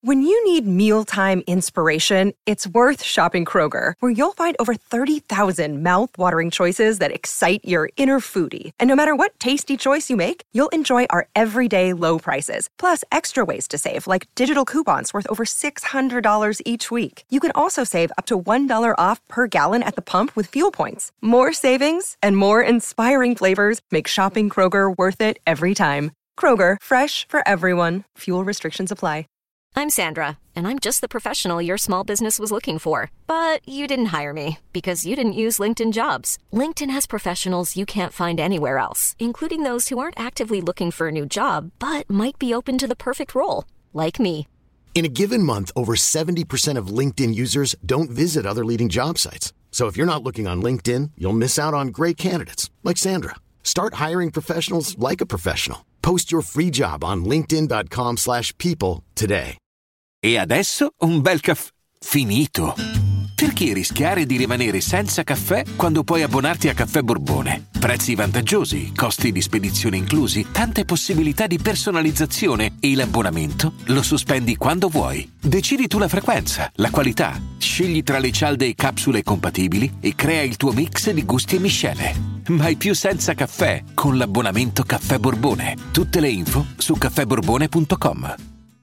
When you need mealtime inspiration, it's worth shopping Kroger, where you'll find over 30,000 mouth-watering choices that excite your inner foodie. And no matter what tasty choice you make, you'll enjoy our everyday low prices, plus extra ways to save, like digital coupons worth over $600 each week. You can also save up to $1 off per gallon at the pump with fuel points. More savings and more inspiring flavors make shopping Kroger worth it every time. Kroger, fresh for everyone. Fuel restrictions apply. I'm Sandra, and I'm just the professional your small business was looking for. But you didn't hire me because you didn't use LinkedIn Jobs. LinkedIn has professionals you can't find anywhere else, including those who aren't actively looking for a new job, but might be open to the perfect role, like me. In a given month, over 70% of LinkedIn users don't visit other leading job sites. So if you're not looking on LinkedIn, you'll miss out on great candidates, like Sandra. Start hiring professionals like a professional. Post your free job on linkedin.com/people today. E adesso un bel caffè finito. Perché rischiare di rimanere senza caffè quando puoi abbonarti a Caffè Borbone? Prezzi vantaggiosi, costi di spedizione inclusi, tante possibilità di personalizzazione e l'abbonamento lo sospendi quando vuoi. Decidi tu la frequenza, la qualità, scegli tra le cialde e capsule compatibili e crea il tuo mix di gusti e miscele. Mai più senza caffè con l'abbonamento Caffè Borbone. Tutte le info su caffèborbone.com.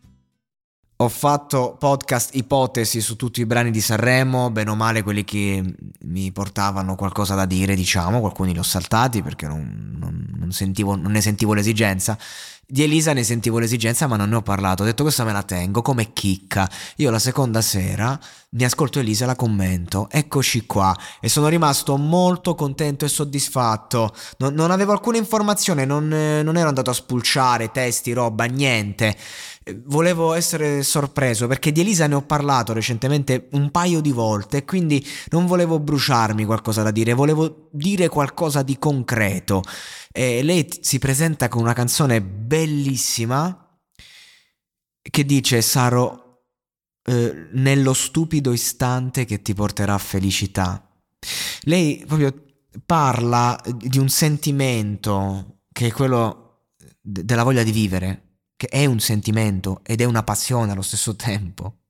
Ho fatto podcast ipotesi su tutti i brani di Sanremo, bene o male quelli che mi portavano qualcosa da dire, diciamo, alcuni li ho saltati perché non ne sentivo l'esigenza. Di Elisa ne sentivo l'esigenza, ma non ne ho parlato. Ho detto questa me la tengo come chicca. Io la seconda sera mi ascolto Elisa e la commento. Eccoci qua. E sono rimasto molto contento e soddisfatto. Non avevo alcuna informazione, non ero andato a spulciare testi, roba, niente. Volevo essere sorpreso perché di Elisa ne ho parlato recentemente un paio di volte, quindi non volevo bruciarmi qualcosa da dire, volevo dire qualcosa di concreto. E lei si presenta con una canzone bellissima che dice: sarò nello stupido istante che ti porterà felicità. Lei proprio parla di un sentimento che è quello della voglia di vivere, che è un sentimento ed è una passione allo stesso tempo,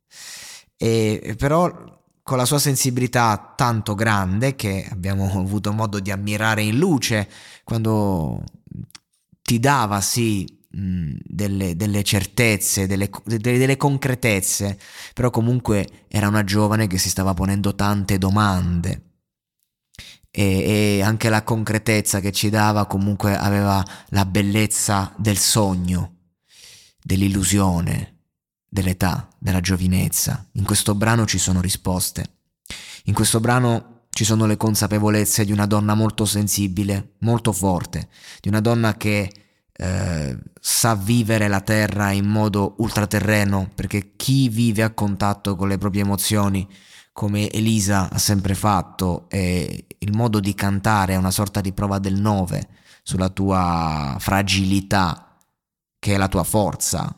e però con la sua sensibilità tanto grande che abbiamo avuto modo di ammirare in luce quando ti dava delle certezze, delle concretezze, però comunque era una giovane che si stava ponendo tante domande. E anche la concretezza che ci dava comunque aveva la bellezza del sogno, dell'illusione, dell'età, della giovinezza. In questo brano ci sono risposte. In questo brano ci sono le consapevolezze di una donna molto sensibile, molto forte, di una donna che sa vivere la terra in modo ultraterreno, perché chi vive a contatto con le proprie emozioni, come Elisa ha sempre fatto, e il modo di cantare è una sorta di prova del 9 sulla tua fragilità, che è la tua forza,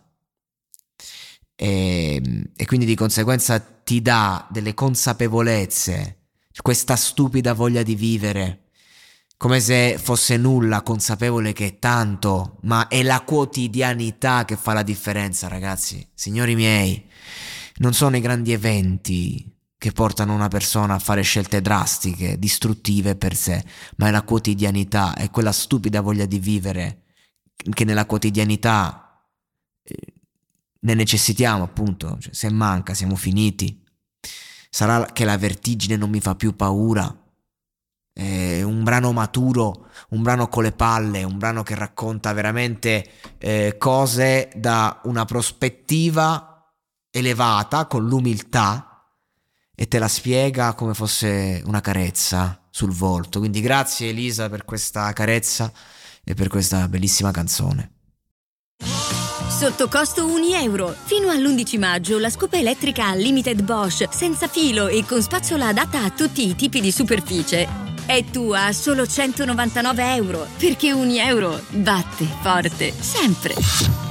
e quindi di conseguenza ti dà delle consapevolezze, questa stupida voglia di vivere, come se fosse nulla, consapevole che è tanto, ma è la quotidianità che fa la differenza, ragazzi. Signori miei, non sono i grandi eventi che portano una persona a fare scelte drastiche, distruttive per sé, ma è la quotidianità, è quella stupida voglia di vivere che nella quotidianità ne necessitiamo, appunto. Cioè, se manca siamo finiti. Sarà che la vertigine non mi fa più paura. È un brano maturo, un brano con le palle, un brano che racconta veramente cose da una prospettiva elevata, con l'umiltà, e te la spiega come fosse una carezza sul volto. Quindi grazie Elisa per questa carezza e per questa bellissima canzone. Sotto costo €1. Fino all'11 maggio la scopa elettrica Limited Bosch senza filo e con spazzola adatta a tutti i tipi di superficie è tua a solo €199, perché €1 batte forte sempre.